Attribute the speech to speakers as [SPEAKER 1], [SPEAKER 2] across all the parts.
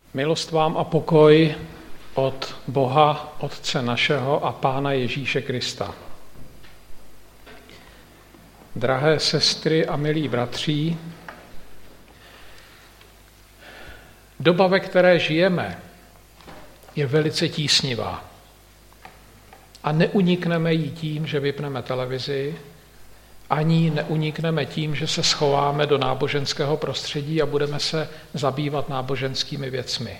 [SPEAKER 1] Milost vám a pokoj od Boha, Otce našeho a Pána Ježíše Krista. Drahé sestry a milí bratří, doba, ve které žijeme, je velice tísnivá. A neunikneme jí tím, že vypneme televizi, ani neunikneme tím, že se schováme do náboženského prostředí a budeme se zabývat náboženskými věcmi.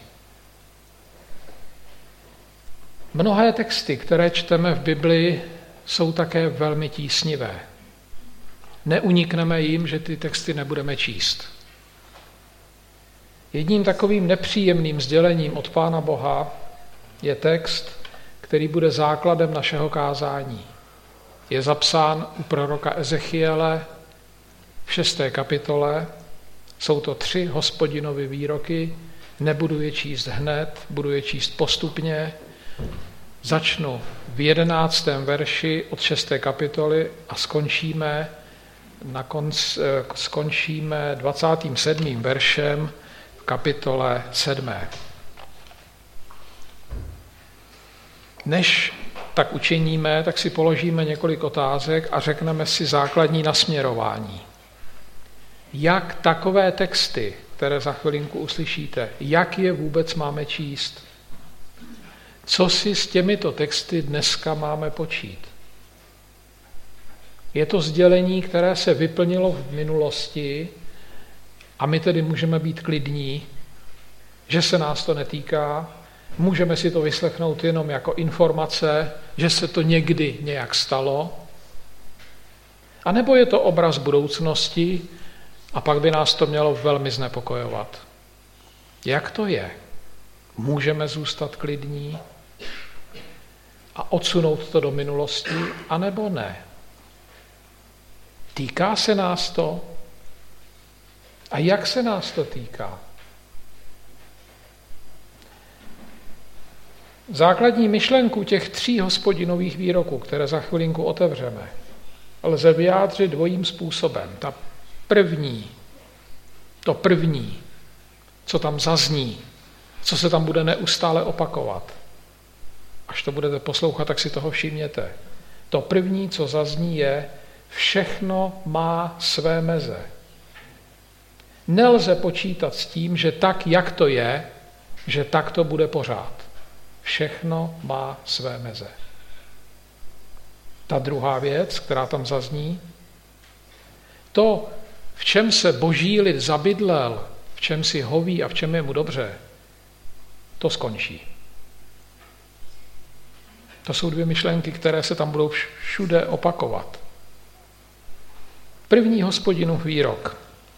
[SPEAKER 1] Mnohé texty, které čteme v Biblii, jsou také velmi tísnivé. Neunikneme jim, že ty texty nebudeme číst. Jedním takovým nepříjemným sdělením od Pána Boha je text, který bude základem našeho kázání. Je zapsán u proroka Ezechiele v 6. kapitole. Jsou to 3 Hospodinovy výroky. Nebudu je číst hned, budu je číst postupně. Začnu v 11. verši od 6. kapitoly a skončíme 27. veršem v kapitole 7. Než tak učiníme, tak si položíme několik otázek a řekneme si základní nasměrování. Jak takové texty, které za chvilinku uslyšíte, jak je vůbec máme číst? Co si s těmito texty dneska máme počít? Je to sdělení, které se vyplnilo v minulosti a my tedy můžeme být klidní, že se nás to netýká. Můžeme si to vyslechnout jenom jako informace, že se to někdy nějak stalo. A nebo je to obraz budoucnosti a pak by nás to mělo velmi znepokojovat. Jak to je? Můžeme zůstat klidní a odsunout to do minulosti, anebo ne? Týká se nás to? A jak se nás to týká? Základní myšlenku těch 3 Hospodinových výroků, které za chvilinku otevřeme, lze vyjádřit dvojím způsobem. To první, co tam zazní, co se tam bude neustále opakovat. Až to budete poslouchat, tak si toho všimněte. To první, co zazní, je: všechno má své meze. Nelze počítat s tím, že tak, jak to je, že tak to bude pořád. Všechno má své meze. Ta druhá věc, která tam zazní, to, v čem se boží lid zabydlel, v čem si hoví a v čem je mu dobře, to skončí. To jsou 2 myšlenky, které se tam budou všude opakovat. První Hospodinův výrok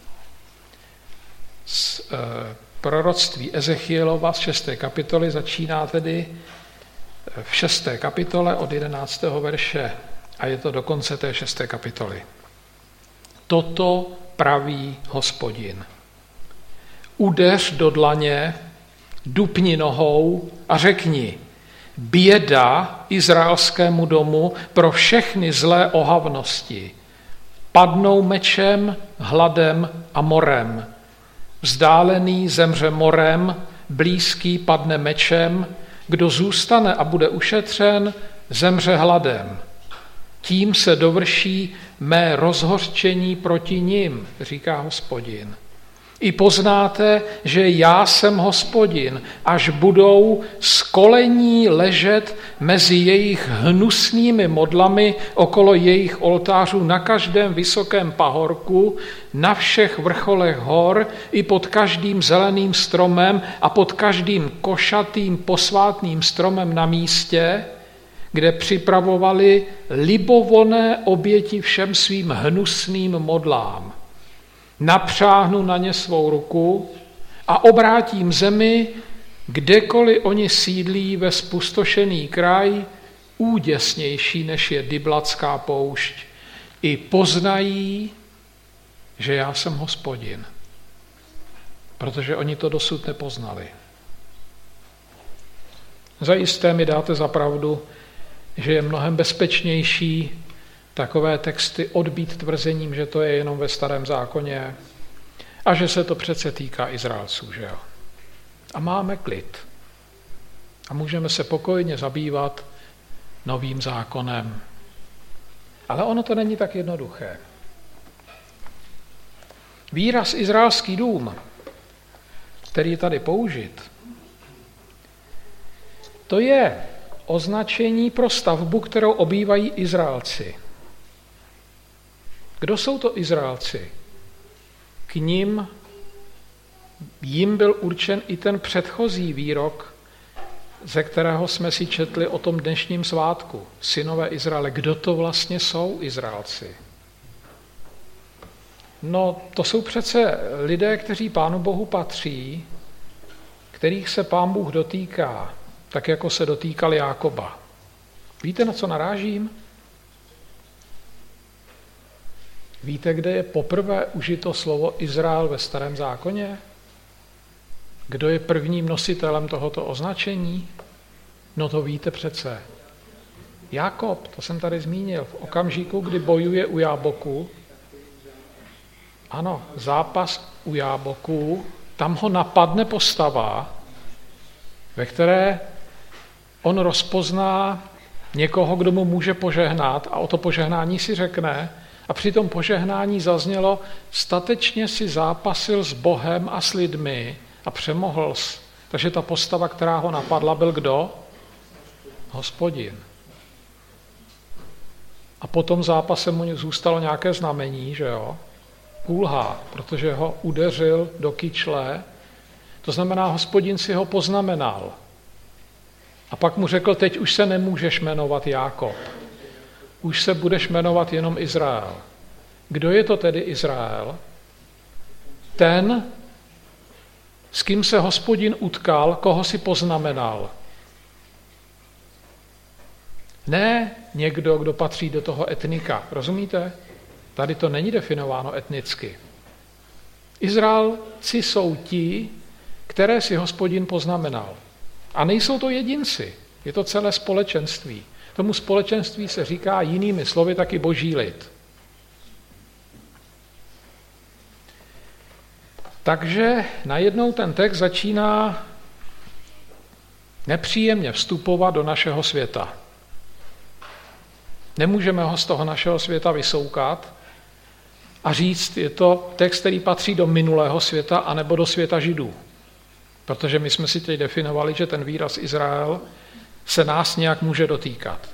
[SPEAKER 1] z proroctví Ezechielova z 6. kapitoly začíná tedy v 6. kapitole od 11. verše a je to do konce té 6. kapitoly. Toto praví Hospodin. Udeř do dlaně, dupni nohou a řekni: běda izraelskému domu pro všechny zlé ohavnosti. Padnou mečem, hladem a morem. Vzdálený zemře morem, blízký padne mečem, kdo zůstane a bude ušetřen, zemře hladem. Tím se dovrší mé rozhořčení proti nim, říká Hospodin. I poznáte, že já jsem Hospodin, až budou z kolení ležet mezi jejich hnusnými modlami okolo jejich oltářů na každém vysokém pahorku, na všech vrcholech hor, i pod každým zeleným stromem a pod každým košatým posvátným stromem na místě, kde připravovali libovolné oběti všem svým hnusným modlám. Napřáhnu na ně svou ruku a obrátím zemi, kdekoliv oni sídlí ve spustošený kraj, úděsnější než je Diblatská poušť. I poznají, že já jsem Hospodin, protože oni to dosud nepoznali. Zajisté mi dáte za pravdu, že je mnohem bezpečnější takové texty odbít tvrzením, že to je jenom ve Starém zákoně a že se to přece týká Izraelců, že jo. A máme klid. A můžeme se pokojně zabývat novým zákonem. Ale ono to není tak jednoduché. Výraz izraelský dům, který je tady použit, to je označení pro stavbu, kterou obývají Izraelci. Kdo jsou to Izraelci? K jim byl určen i ten předchozí výrok, ze kterého jsme si četli o tom dnešním svátku. Synové Izraele. Kdo to vlastně jsou Izraelci? No, to jsou přece lidé, kteří Pánu Bohu patří, kterých se Pán Bůh dotýká, tak jako se dotýkal Jákoba. Víte, na co narážím? Víte, kde je poprvé užito slovo Izrael ve Starém zákoně? Kdo je prvním nositelem tohoto označení? No to víte přece. Jákob, to jsem tady zmínil, v okamžiku, kdy bojuje u Jáboku, ano, zápas u Jáboku, tam ho napadne postava, ve které on rozpozná někoho, kdo mu může požehnat a o to požehnání si řekne a při tom požehnání zaznělo, statečně si zápasil s Bohem a s lidmi a přemohl jsi. Takže ta postava, která ho napadla, byl kdo? Hospodin. A po tom zápase mu zůstalo nějaké znamení, že jo? Kulhá, protože ho udeřil do kyčle. To znamená, Hospodin si ho poznamenal. A pak mu řekl, teď už se nemůžeš jmenovat Jákob. Už se budeš jmenovat jenom Izrael. Kdo je to tedy Izrael? Ten, s kým se Hospodin utkal, koho si poznamenal. Ne někdo, kdo patří do toho etnika. Rozumíte? Tady to není definováno etnicky. Izraelci jsou ti, které si Hospodin poznamenal. A nejsou to jedinci, je to celé společenství. Tomu společenství se říká jinými slovy taky boží lid. Takže najednou ten text začíná nepříjemně vstupovat do našeho světa. Nemůžeme ho z toho našeho světa vysoukat a říct, je to text, který patří do minulého světa anebo do světa Židů. Protože my jsme si teď definovali, že ten výraz Izrael se nás nějak může dotýkat.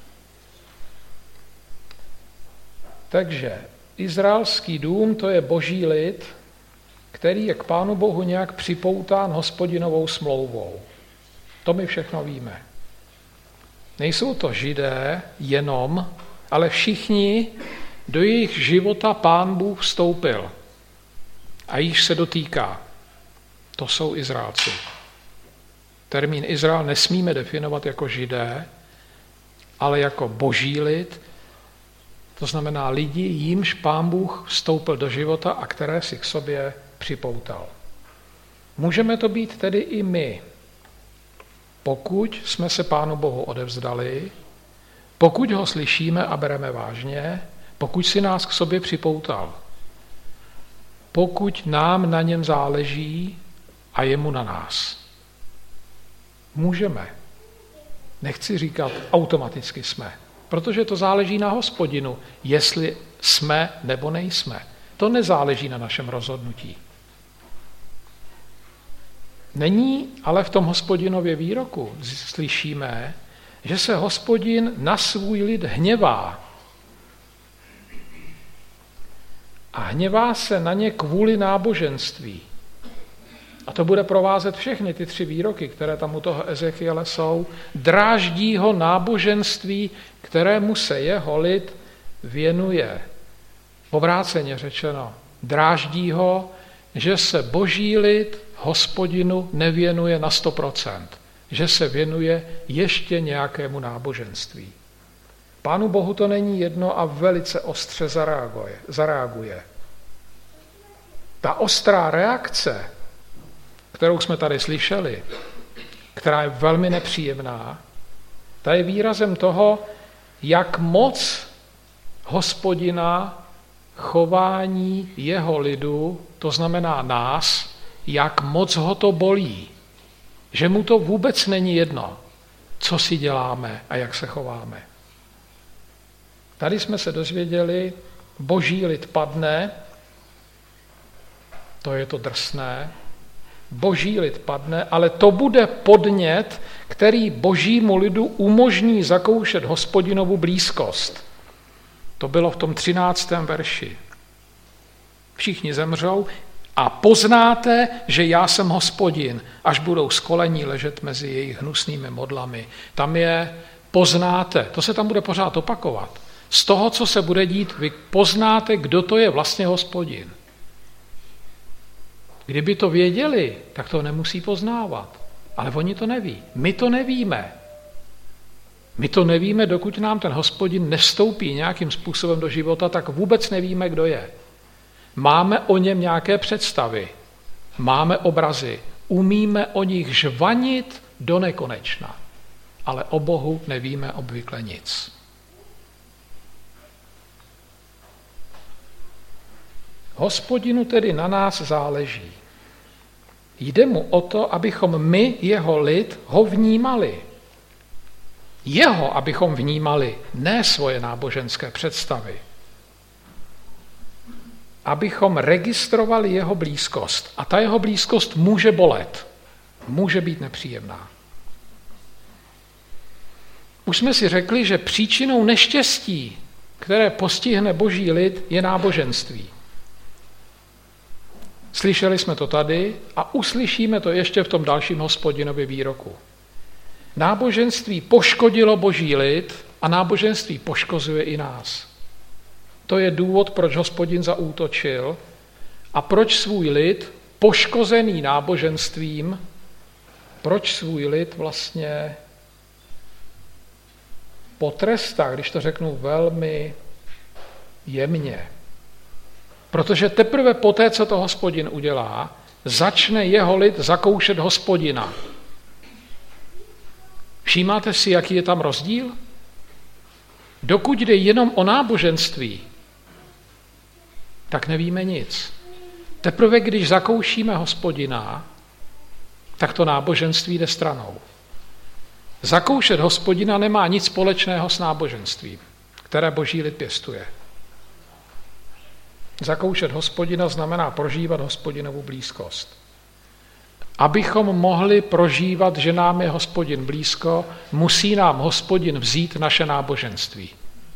[SPEAKER 1] Takže izraelský dům, to je boží lid, který je k Pánu Bohu nějak připoután Hospodinovou smlouvou. To my všechno víme. Nejsou to Židé jenom, ale všichni, do jejich života Pán Bůh vstoupil a již se dotýká. To jsou Izraelci. Termín Izrael nesmíme definovat jako Židé, ale jako boží lid, to znamená lidi, jímž Pán Bůh vstoupil do života a které si k sobě připoutal. Můžeme to být tedy i my, pokud jsme se Pánu Bohu odevzdali, pokud ho slyšíme a bereme vážně, pokud si nás k sobě připoutal, pokud nám na něm záleží a jemu na nás. Můžeme. Nechci říkat, automaticky jsme, protože to záleží na Hospodinu, jestli jsme nebo nejsme. To nezáleží na našem rozhodnutí. Není ale v tom Hospodinově výroku slyšíme, že se Hospodin na svůj lid hněvá. A hněvá se na ně kvůli náboženství. A to bude provázet všechny ty 3 výroky, které tam u toho Ezechiele jsou. Dráždí ho náboženství, kterému se jeho lid věnuje. Obráceně řečeno, dráždí ho, že se boží lid Hospodinu nevěnuje na 100%, že se věnuje ještě nějakému náboženství. Pánu Bohu to není jedno a velice ostře zareaguje. Ta ostrá reakce, kterou jsme tady slyšeli, která je velmi nepříjemná, ta je výrazem toho, jak moc Hospodina chování jeho lidu, to znamená nás, jak moc ho to bolí, Že mu to vůbec není jedno, co si děláme a jak se chováme. Tady jsme se dozvěděli, boží lid padne, to je to drsné, boží lid padne, ale to bude podnět, který božímu lidu umožní zakoušet Hospodinovu blízkost. To bylo v tom 13. verši. Všichni zemřou a poznáte, že já jsem Hospodin, až budou skolení ležet mezi jejich hnusnými modlami. Tam je poznáte, to se tam bude pořád opakovat. Z toho, co se bude dít, vy poznáte, kdo to je vlastně Hospodin. Kdyby to věděli, tak to nemusí poznávat. Ale oni to neví. My to nevíme. My to nevíme, dokud nám ten Hospodin nevstoupí nějakým způsobem do života, tak vůbec nevíme, kdo je. Máme o něm nějaké představy, máme obrazy, umíme o nich žvanit do nekonečna, ale o Bohu nevíme obvykle nic. Hospodinu tedy na nás záleží. Jde mu o to, abychom my, jeho lid, ho vnímali. Jeho, abychom vnímali, ne svoje náboženské představy. Abychom registrovali jeho blízkost. A ta jeho blízkost může bolet. Může být nepříjemná. Už jsme si řekli, že příčinou neštěstí, které postihne boží lid, je náboženství. Slyšeli jsme to tady a uslyšíme to ještě v tom dalším Hospodinově výroku. Náboženství poškodilo boží lid a náboženství poškozuje i nás. To je důvod, proč Hospodin zaútočil a proč svůj lid, poškozený náboženstvím, proč svůj lid vlastně potrestá, když to řeknu velmi jemně. Protože teprve poté, co to Hospodin udělá, začne jeho lid zakoušet Hospodina. Všímáte si, jaký je tam rozdíl? Dokud jde jenom o náboženství, tak nevíme nic. Teprve, když zakoušíme Hospodina, tak to náboženství jde stranou. Zakoušet Hospodina nemá nic společného s náboženstvím, které boží lid pěstuje. Zakoušet Hospodina znamená prožívat Hospodinovu blízkost. Abychom mohli prožívat, že nám je Hospodin blízko, musí nám Hospodin vzít naše náboženství.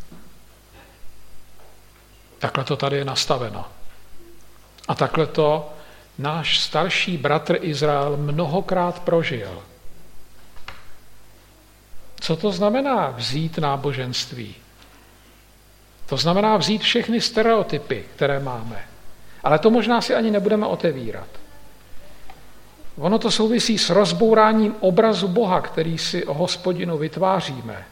[SPEAKER 1] Takhle to tady je nastaveno. A takhle to náš starší bratr Izrael mnohokrát prožil. Co to znamená vzít náboženství? To znamená vzít všechny stereotypy, které máme. Ale to možná si ani nebudeme otevírat. Ono to souvisí s rozbouráním obrazu Boha, který si o Hospodinu vytváříme.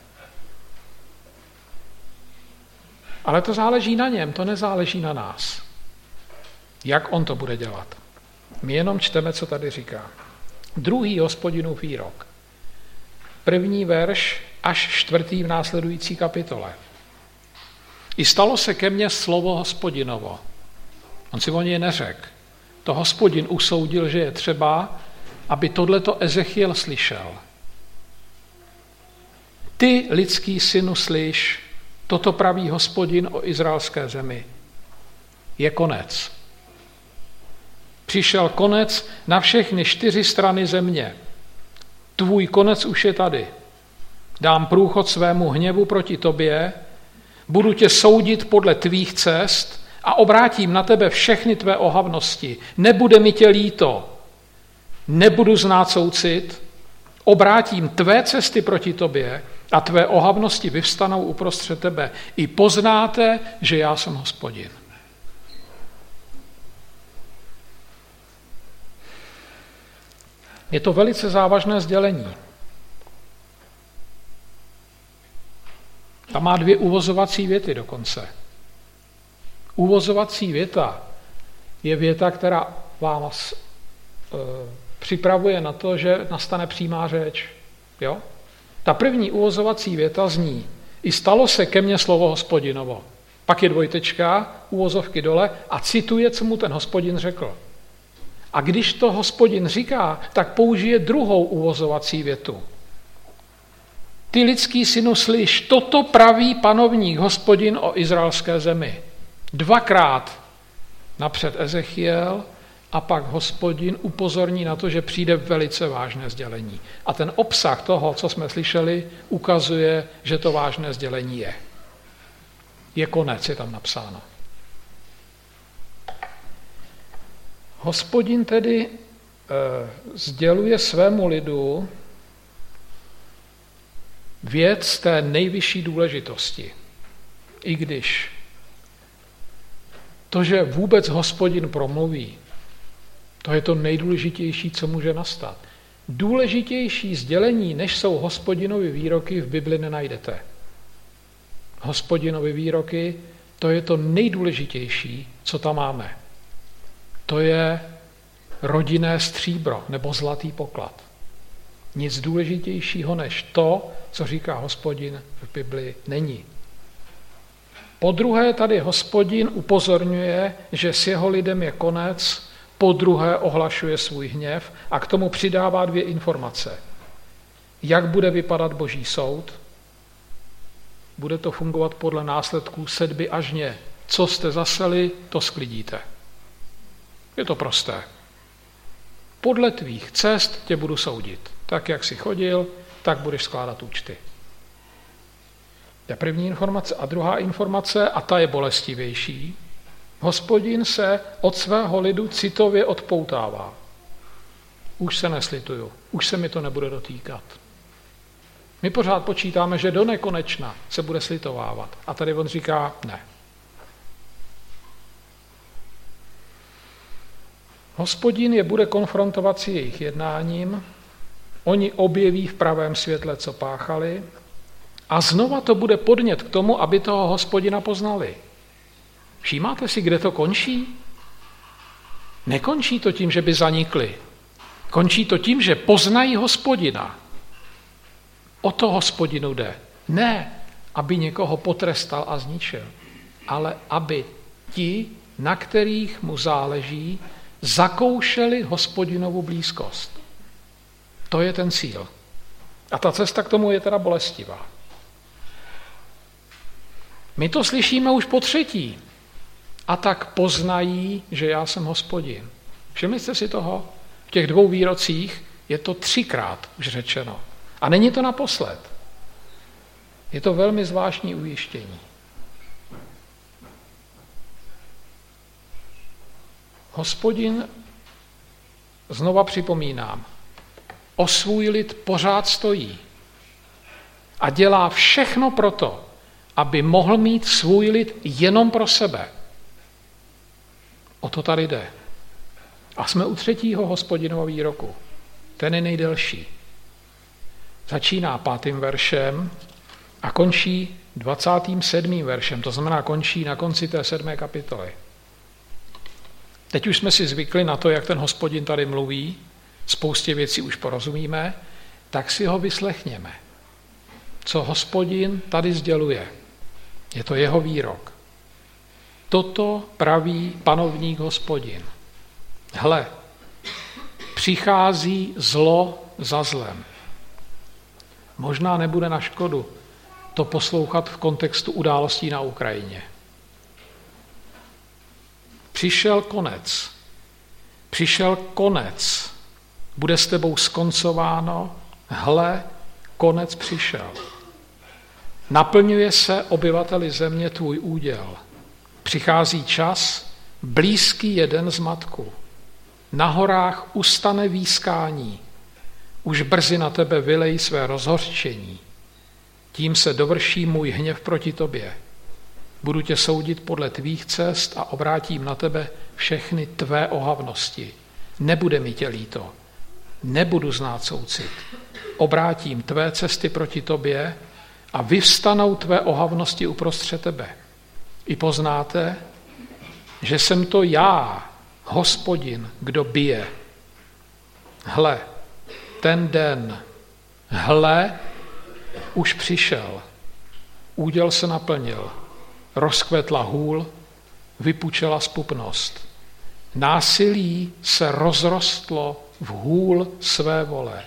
[SPEAKER 1] Ale to záleží na něm, to nezáleží na nás. Jak on to bude dělat? My jenom čteme, co tady říká. Druhý Hospodinův výrok. 1. verš až 4. v následující kapitole. I stalo se ke mně slovo Hospodinovo. On si o něj neřekl. To Hospodin usoudil, že je třeba, aby tohleto Ezechiel slyšel. Ty, lidský synu, slyš, toto praví Hospodin o izraelské zemi. Je konec. Přišel konec na všechny 4 strany země. Tvůj konec už je tady. Dám průchod svému hněvu proti tobě, budu tě soudit podle tvých cest a obrátím na tebe všechny tvé ohavnosti. Nebude mi tě líto, nebudu znát soucit, obrátím tvé cesty proti tobě a tvé ohavnosti vyvstanou uprostřed tebe. I poznáte, že já jsem Hospodin. Je to velice závažné sdělení. Tam má 2 uvozovací věty dokonce. Uvozovací věta je věta, která vás připravuje na to, že nastane přímá řeč. Jo? Ta první uvozovací věta zní: I stalo se ke mně slovo Hospodinovo. Pak je dvojtečka, uvozovky dole a cituje, co mu ten Hospodin řekl. A když to Hospodin říká, tak použije druhou uvozovací větu. Ty lidský synu, slyš, toto praví panovník Hospodin o izraelské zemi. Dvakrát napřed Ezechiel a pak Hospodin upozorní na to, že přijde velice vážné sdělení. A ten obsah toho, co jsme slyšeli, ukazuje, že to vážné sdělení je. Je konec, je tam napsáno. Hospodin tedy sděluje svému lidu věc té nejvyšší důležitosti. I když to, že vůbec Hospodin promluví, to je to nejdůležitější, co může nastat. Důležitější sdělení, než jsou Hospodinovy výroky, v Bibli nenajdete. Hospodinovy výroky, to je to nejdůležitější, co tam máme. To je rodinné stříbro nebo zlatý poklad. Nic důležitějšího než to, co říká Hospodin v Bibli, není. Po druhé tady Hospodin upozorňuje, že s jeho lidem je konec, po druhé ohlašuje svůj hněv a k tomu přidává 2 informace. Jak bude vypadat Boží soud? Bude to fungovat podle následků sedby a žně. Co jste zaseli, to sklidíte. Je to prosté. Podle tvých cest tě budu soudit. Tak, jak jsi chodil, tak budeš skládat účty. To je první informace. A druhá informace, a ta je bolestivější, Hospodin se od svého lidu citově odpoutává. Už se neslituju, už se mi to nebude dotýkat. My pořád počítáme, že do nekonečna se bude slitovávat. A tady on říká ne. Hospodin je bude konfrontovat s jejich jednáním, oni objeví v pravém světle, co páchali, a znova to bude podnět k tomu, aby toho Hospodina poznali. Všímáte si, kde to končí? Nekončí to tím, že by zanikli. Končí to tím, že poznají Hospodina. O to Hospodinu jde. Ne, aby někoho potrestal a zničil, ale aby ti, na kterých mu záleží, zakoušeli Hospodinovu blízkost. To je ten cíl. A ta cesta k tomu je teda bolestivá. My to slyšíme už po třetí. A tak poznají, že já jsem Hospodin. Všimli jste si toho? V těch 2 výrocích je to 3krát už řečeno. A není to naposled. Je to velmi zvláštní ujištění. Hospodin, znova připomínám, o svůj lid pořád stojí a dělá všechno proto, aby mohl mít svůj lid jenom pro sebe. O to tady jde. A jsme u 3. Hospodinova výroku. Ten je nejdelší. Začíná 5. veršem a končí 27. veršem. To znamená, končí na konci té 7. kapitoly. Teď už jsme si zvykli na to, jak ten Hospodin tady mluví, spoustě věcí už porozumíme, tak si ho vyslechněme. Co Hospodin tady sděluje. Je to jeho výrok. Toto praví panovník Hospodin. Hle, přichází zlo za zlem. Možná nebude na škodu to poslouchat v kontextu událostí na Ukrajině. Přišel konec. Přišel konec. Bude s tebou skoncováno. Hle, konec přišel. Naplňuje se obyvateli země tvůj úděl. Přichází čas, blízký jeden z matku. Na horách ustane výskání. Už brzy na tebe vylej své rozhořčení. Tím se dovrší můj hněv proti tobě. Budu tě soudit podle tvých cest a obrátím na tebe všechny tvé ohavnosti. Nebude mi tě líto. Nebudu znát soucit. Obrátím tvé cesty proti tobě a vyvstanou tvé ohavnosti uprostřed tebe. I poznáte, že jsem to já, Hospodin, kdo bije. Hle, ten den, hle, už přišel. Úděl se naplnil. Rozkvetla hůl, vypučela zpupnost. Násilí se rozrostlo v hůl své vole.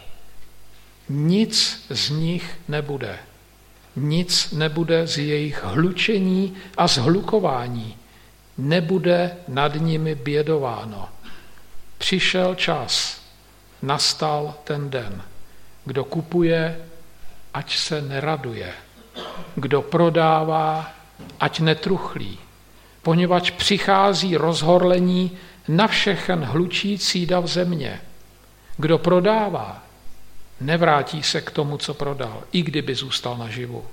[SPEAKER 1] Nic z nich nebude. Nic nebude z jejich hlučení a zhlukování. Nebude nad nimi bědováno. Přišel čas, nastal ten den. Kdo kupuje, ať se neraduje. Kdo prodává, ať netruchlí. Poněvadž přichází rozhorlení na všechen hlučící dav země. Kdo prodává, nevrátí se k tomu, co prodal, i kdyby zůstal naživu.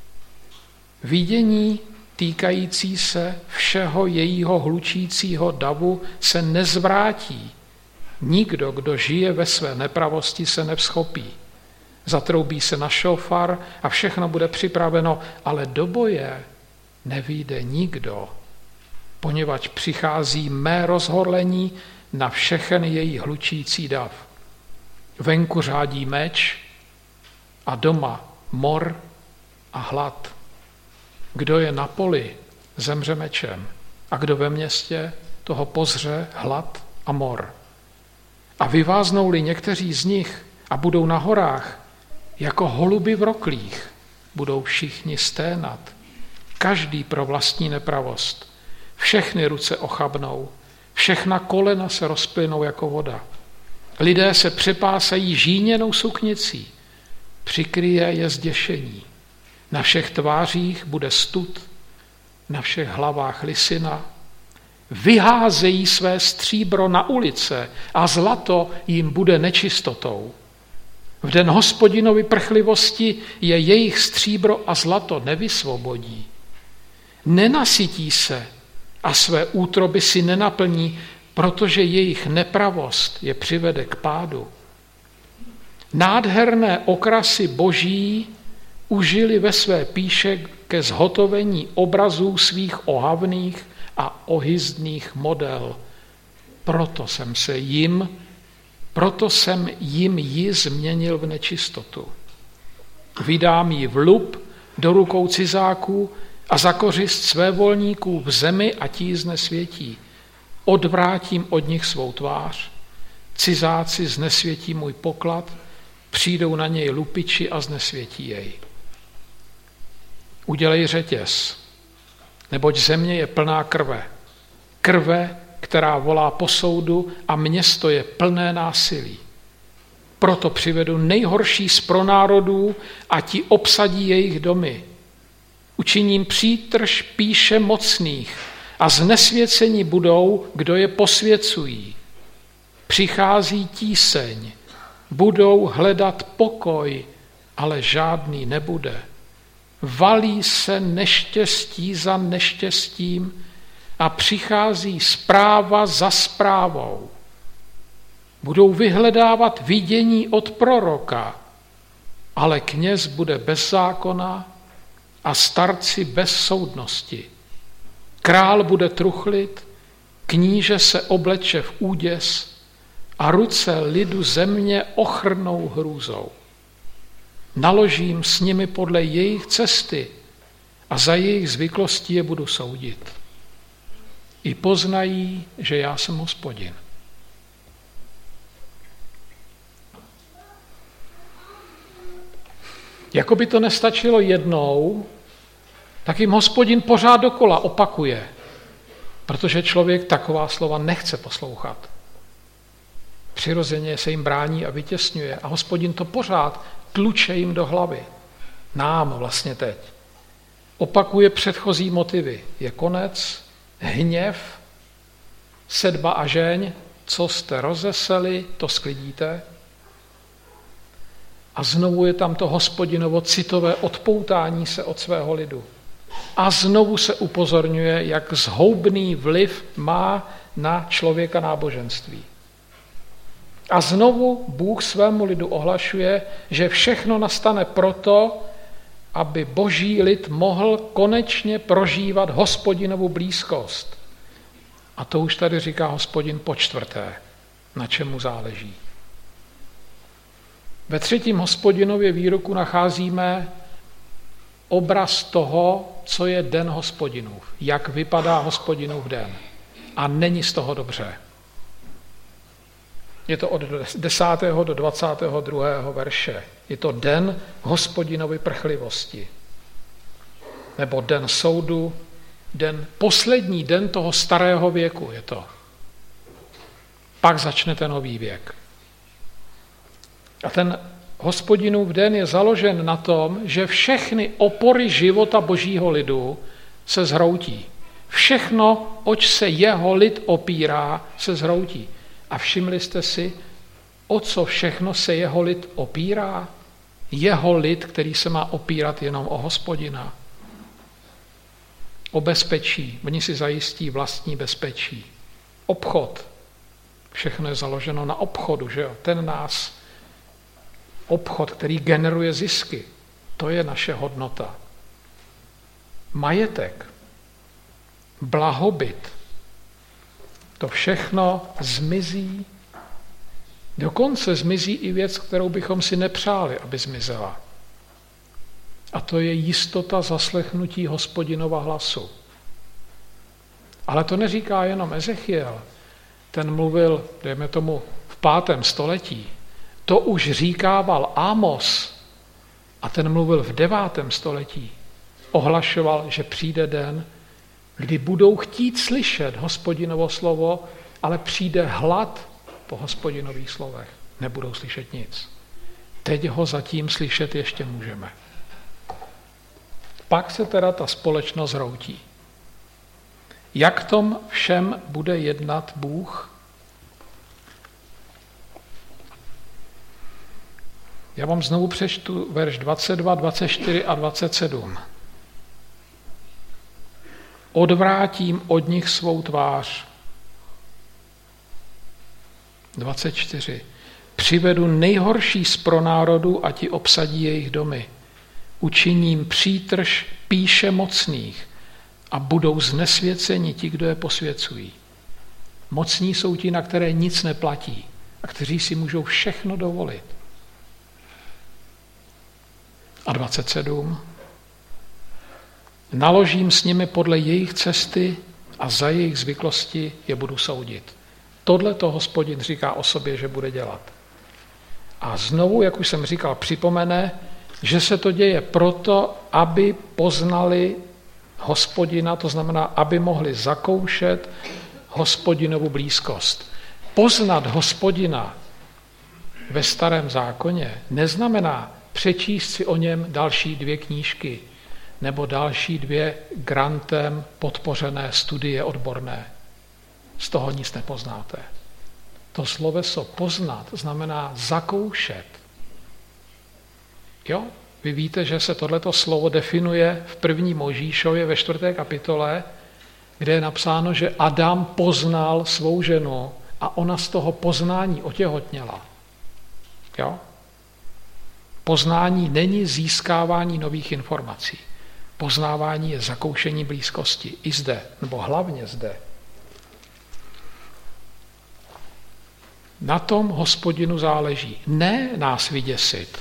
[SPEAKER 1] Vidění týkající se všeho jejího hlučícího davu se nezvrátí. Nikdo, kdo žije ve své nepravosti, se nevzchopí. Zatroubí se na šofar a všechno bude připraveno, ale do boje nevyjde nikdo, poněvadž přichází mé rozhorlení na všechen její hlučící dav. Venku řádí meč a doma mor a hlad. Kdo je na poli, zemře mečem, a kdo ve městě, toho pozře hlad a mor. A vyváznou-li někteří z nich a budou na horách, jako holuby v roklích, budou všichni sténat, každý pro vlastní nepravost. Všechny ruce ochabnou, všechna kolena se rozplynou jako voda. Lidé se přepásají žíněnou suknicí, přikryje je zděšení. Na všech tvářích bude stud, na všech hlavách lisina. Vyházejí své stříbro na ulice a zlato jim bude nečistotou. V den Hospodinovy prchlivosti je jejich stříbro a zlato nevysvobodí. Nenasytí se a své útroby si nenaplní, protože jejich nepravost je přivede k pádu. Nádherné okrasy boží užili ve své píše ke zhotovení obrazů svých ohavných a ohyzdných model. Proto jsem jim ji změnil v nečistotu. Vydám ji v lup do rukou cizáků a za kořist svévolníků v zemi a tí znesvětí. Odvrátím od nich svou tvář, cizáci znesvětí můj poklad, přijdou na něj lupiči a znesvětí jej. Udělej řetěz, neboť země je plná krve. Krve, která volá po soudu, a město je plné násilí. Proto přivedu nejhorší z pronárodů a ti obsadí jejich domy. Učiním přítrž píše mocných a znesvěcení budou, kdo je posvěcují. Přichází tíseň, budou hledat pokoj, ale žádný nebude. Valí se neštěstí za neštěstím a přichází zpráva za zprávou. Budou vyhledávat vidění od proroka, ale kněz bude bez zákona a starci bez soudnosti. Král bude truchlit, kníže se obleče v úděs a ruce lidu země ochrnou hrůzou. Naložím s nimi podle jejich cesty a za jejich zvyklostí je budu soudit. I poznají, že já jsem Hospodin. Jako by to nestačilo jednou, tak jim Hospodin pořád dokola opakuje, protože člověk taková slova nechce poslouchat. Přirozeně se jim brání a vytěsňuje a Hospodin to pořád tluče jim do hlavy. Nám vlastně teď. Opakuje předchozí motivy. Je konec, hněv, sedba a žeň, co jste rozeseli, to sklidíte. A znovu je tam to Hospodinovo citové odpoutání se od svého lidu. A znovu se upozorňuje, jak zhoubný vliv má na člověka náboženství. A znovu Bůh svému lidu ohlašuje, že všechno nastane proto, aby boží lid mohl konečně prožívat Hospodinovu blízkost. A to už tady říká Hospodin po čtvrté, na čemu záleží. Ve 3. Hospodinově výroku nacházíme obraz toho, co je den Hospodinův, jak vypadá Hospodinův den. A není z toho dobře. Je to od 10. do 22. verše. Je to den Hospodinovy prchlivosti. Nebo den soudu, poslední den toho starého věku je to. Pak začne ten nový věk. A ten Hospodinův den je založen na tom, že všechny opory života božího lidu se zhroutí. Všechno, oč se jeho lid opírá, se zhroutí. A všimli jste si, o co všechno se jeho lid opírá? Jeho lid, který se má opírat jenom o Hospodina. O bezpečí. Oni si zajistí vlastní bezpečí. Obchod. Všechno je založeno na obchodu, že jo? Obchod, který generuje zisky. To je naše hodnota. Majetek. Blahobyt. To všechno zmizí. Dokonce zmizí i věc, kterou bychom si nepřáli, aby zmizela. A to je jistota zaslechnutí Hospodinova hlasu. Ale to neříká jenom Ezechiel. Ten mluvil, dejme tomu, v 5. století. To už říkával Ámos a ten mluvil v 9. století. Ohlašoval, že přijde den, kdy budou chtít slyšet Hospodinovo slovo, ale přijde hlad po Hospodinových slovech. Nebudou slyšet nic. Teď ho zatím slyšet ještě můžeme. Pak se teda ta společnost zhroutí. Jak tom všem bude jednat Bůh? Já vám znovu přečtu verš 22, 24 a 27. Odvrátím od nich svou tvář. 24. Přivedu nejhorší z pronárodů a ti obsadí jejich domy. Učiním přítrž píše mocných a budou znesvěceni ti, kdo je posvěcují. Mocní jsou ti, na které nic neplatí a kteří si můžou všechno dovolit. A 27. Naložím s nimi podle jejich cesty a za jejich zvyklosti je budu soudit. Tohle to Hospodin říká o sobě, že bude dělat. A znovu, jak už jsem říkal, připomene, že se to děje proto, aby poznali Hospodina, to znamená, aby mohli zakoušet Hospodinovu blízkost. Poznat Hospodina ve Starém zákoně neznamená přečíst si o něm další 2 knížky nebo další 2 grantem podpořené studie odborné. Z toho nic nepoznáte. To sloveso poznat znamená zakoušet. Jo? Vy víte, že se tohleto slovo definuje v 1. Mojžíšově ve 4. kapitole, kde je napsáno, že Adam poznal svou ženu a ona z toho poznání otěhotněla. Jo? Poznání není získávání nových informací. Poznávání je zakoušení blízkosti. I zde, nebo hlavně zde. Na tom Hospodinu záleží. Ne nás vyděsit,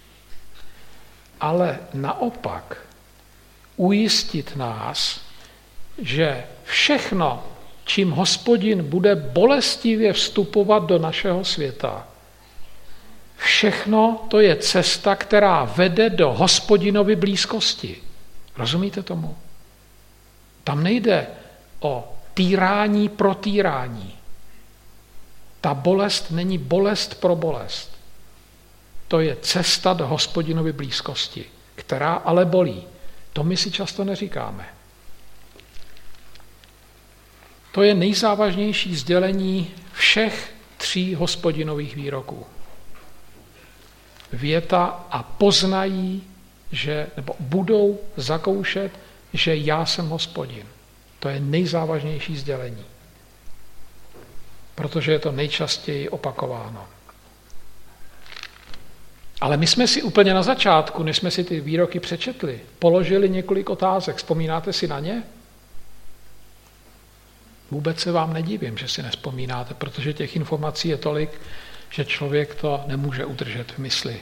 [SPEAKER 1] ale naopak ujistit nás, že všechno, čím Hospodin bude bolestivě vstupovat do našeho světa, všechno to je cesta, která vede do Hospodinovy blízkosti. Rozumíte tomu? Tam nejde o týrání pro týrání. Ta bolest není bolest pro bolest. To je cesta do Hospodinovy blízkosti, která ale bolí. To my si často neříkáme. To je nejzávažnější sdělení všech 3 Hospodinových výroků. Věta a poznají, nebo budou zakoušet, že já jsem Hospodin. To je nejzávažnější sdělení. Protože je to nejčastěji opakováno. Ale my jsme si úplně na začátku, než jsme si ty výroky přečetli, položili několik otázek. Vzpomínáte si na ně? Vůbec se vám nedivím, že si nevzpomínáte, protože těch informací je tolik, že člověk to nemůže udržet v mysli.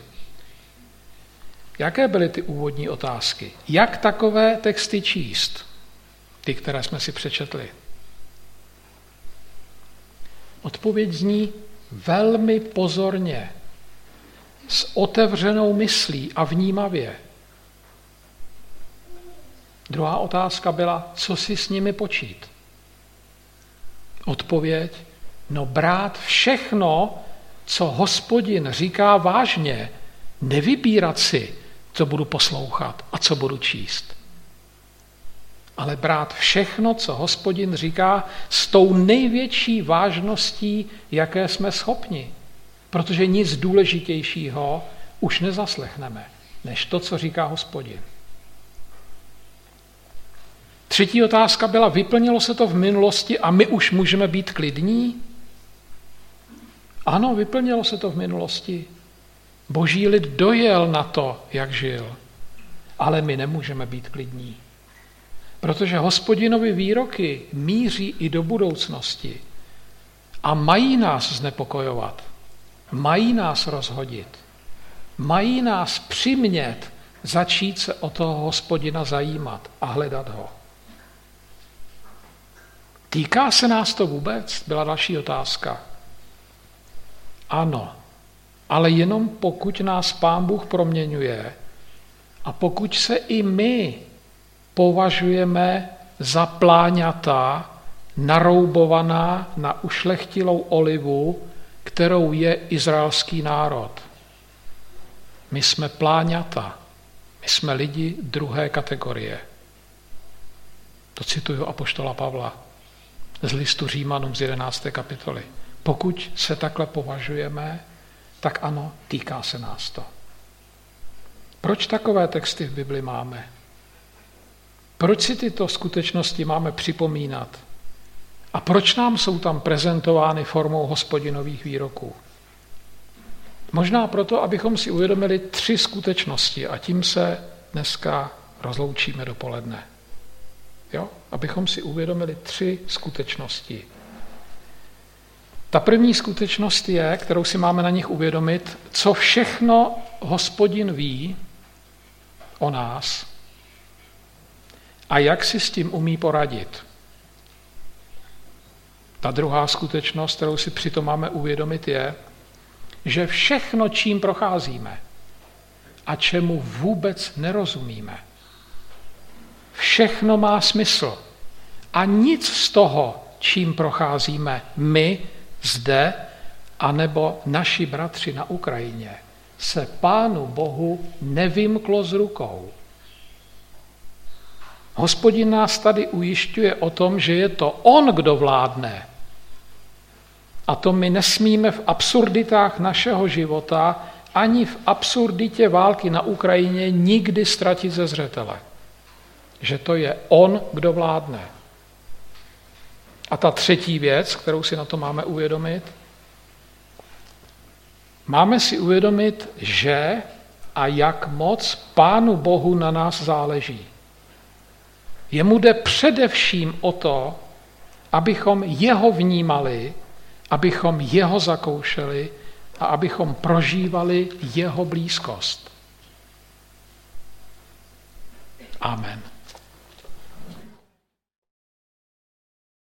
[SPEAKER 1] Jaké byly ty úvodní otázky? Jak takové texty číst? Ty, které jsme si přečetli. Odpověď zní, velmi pozorně, s otevřenou myslí a vnímavě. Druhá otázka byla, co si s nimi počít? Odpověď, brát všechno, co Hospodin říká vážně, nevybírat si, co budu poslouchat a co budu číst. Ale brát všechno, co Hospodin říká, s tou největší vážností, jaké jsme schopni. Protože nic důležitějšího už nezaslechneme, než to, co říká Hospodin. Třetí otázka byla, vyplnilo se to v minulosti a my už můžeme být klidní? Ano, vyplnilo se to v minulosti. Boží lid dojel na to, jak žil. Ale my nemůžeme být klidní. Protože Hospodinovy výroky míří i do budoucnosti a mají nás znepokojovat, mají nás rozhodit, mají nás přimět začít se o toho Hospodina zajímat a hledat ho. Týká se nás to vůbec? Byla další otázka. Ano, ale jenom pokud nás Pán Bůh proměňuje a pokud se i my považujeme za pláňata naroubovaná na ušlechtilou olivu, kterou je izraelský národ. My jsme pláňata, my jsme lidi druhé kategorie. To cituju apoštola Pavla z listu Římanům z 11. kapitoly. Pokud se takhle považujeme, tak ano, týká se nás to. Proč takové texty v Bibli máme? Proč si tyto skutečnosti máme připomínat? A proč nám jsou tam prezentovány formou Hospodinových výroků? Možná proto, abychom si uvědomili 3 skutečnosti a tím se dneska rozloučíme dopoledne. Jo? Abychom si uvědomili 3 skutečnosti. Ta první skutečnost je, kterou si máme na nich uvědomit, co všechno Hospodin ví o nás a jak si s tím umí poradit. Ta druhá skutečnost, kterou si přitom máme uvědomit, je, že všechno, čím procházíme a čemu vůbec nerozumíme, všechno má smysl a nic z toho, čím procházíme my zde, anebo naši bratři na Ukrajině, se Pánu Bohu nevymklo z rukou. Hospodin nás tady ujišťuje o tom, že je to on, kdo vládne. A to my nesmíme v absurditách našeho života ani v absurditě války na Ukrajině nikdy ztratit ze zřetele. Že to je on, kdo vládne. A ta třetí věc, kterou si na to máme uvědomit, máme si uvědomit, že a jak moc Pánu Bohu na nás záleží. Jemu jde především o to, abychom jeho vnímali, abychom jeho zakoušeli a abychom prožívali jeho blízkost. Amen.